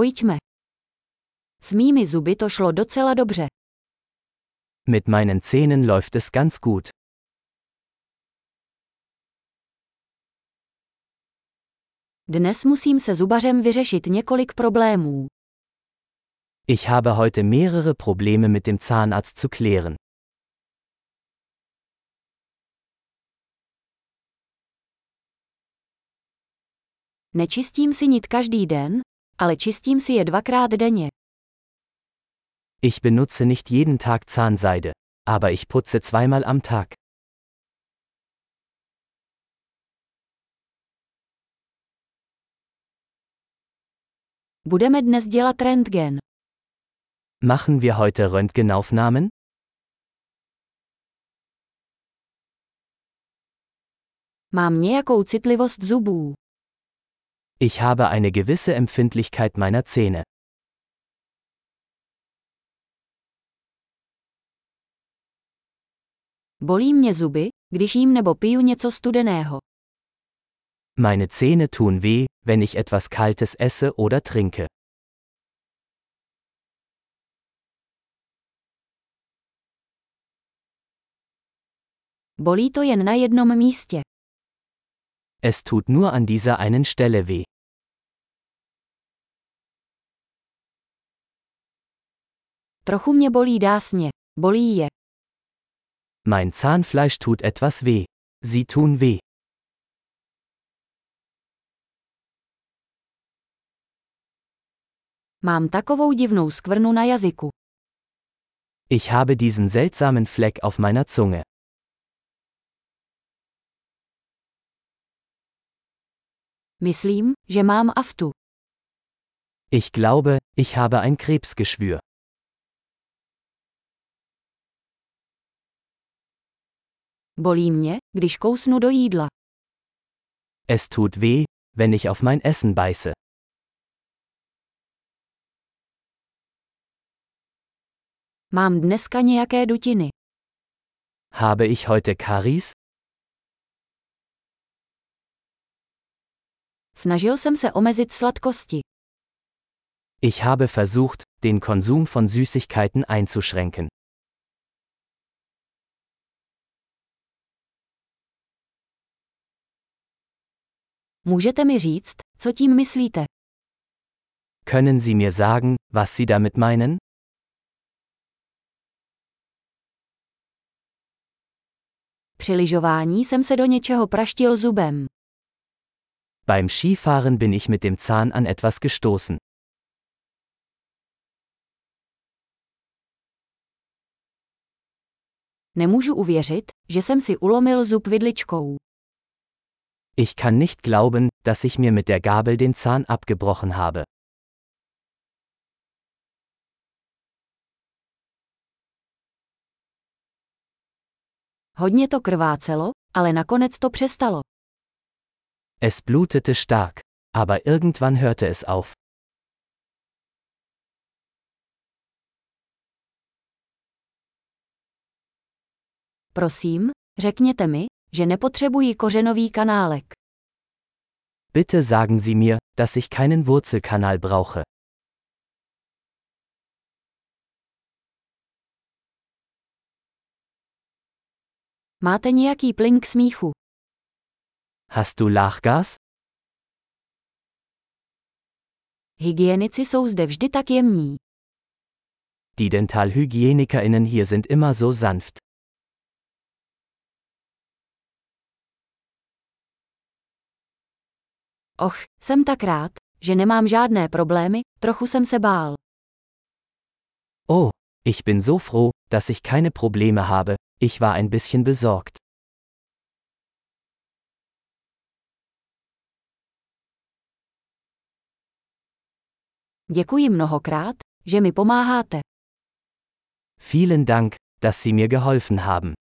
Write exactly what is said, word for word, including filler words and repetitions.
Pojďme. S mými zuby to šlo docela dobře. Mit meinen Zähnen läuft es ganz gut. Dnes musím se zubařem vyřešit několik problémů. Ich habe heute mehrere Probleme mit dem Zahnarzt zu klären. Nečistím si nit každý den, ale čistím si je dvakrát denně. Ich benutze nicht jeden Tag Zahnseide, aber ich putze zweimal am Tag. Budeme dnes dělat rentgen. Machen wir heute Röntgenaufnahmen? Mám nějakou citlivost zubů. Ich habe eine gewisse Empfindlichkeit meiner Zähne. Bolí mě zuby, když jím nebo piju něco studeného. Meine Zähne tun weh, wenn ich etwas Kaltes esse oder trinke. Bolí to jen na jednom místě. Es tut nur an dieser einen Stelle weh. Trochu mě bolí dásně. Bolí je. Mein Zahnfleisch tut etwas weh. Sie tun weh. Mám takovou divnou skvrnu na jazyku. Ich habe diesen seltsamen Fleck auf meiner Zunge. Myslím, že mám aftu. Ich glaube, ich habe ein Krebsgeschwür. Bolí mě, když kousnu do jídla. Es tut weh, wenn ich auf mein Essen beiße. Mám dneska nějaké dutiny. Habe ich heute Karies? Snažil jsem se omezit sladkosti. Ich habe versucht, den Konsum von Süßigkeiten einzuschränken. Můžete mi říct, co tím myslíte? Können Sie mir sagen, was Sie damit meinen? Při lyžování jsem se do něčeho praštil zubem. Beim Skifahren bin ich mit dem Zahn an etwas gestoßen. Nemůžu uvěřit, že jsem si ulomil zub vidličkou. Ich kann nicht glauben, dass ich mir mit der Gabel den Zahn abgebrochen habe. Hodně to krvácelo, ale nakonec to přestalo. Es blutete stark, aber irgendwann hörte es auf. Prosím, řekněte mi, že nepotřebuji kořenový kanálek. Bitte sagen Sie mir, dass ich keinen Wurzelkanal brauche. Máte nějaký plyn k smíchu? Hast du Lachgas? Hygienici jsou zde vždy tak jemní. Die DentalhygienikerInnen hier sind immer so sanft. Och, jsem tak rád, že nemám žádné problémy, trochu jsem se bál. Oh, ich bin so froh, dass ich keine Probleme habe, ich war ein bisschen besorgt. Děkuji mnohokrát, že mi pomáháte. Vielen Dank, dass Sie mir geholfen haben.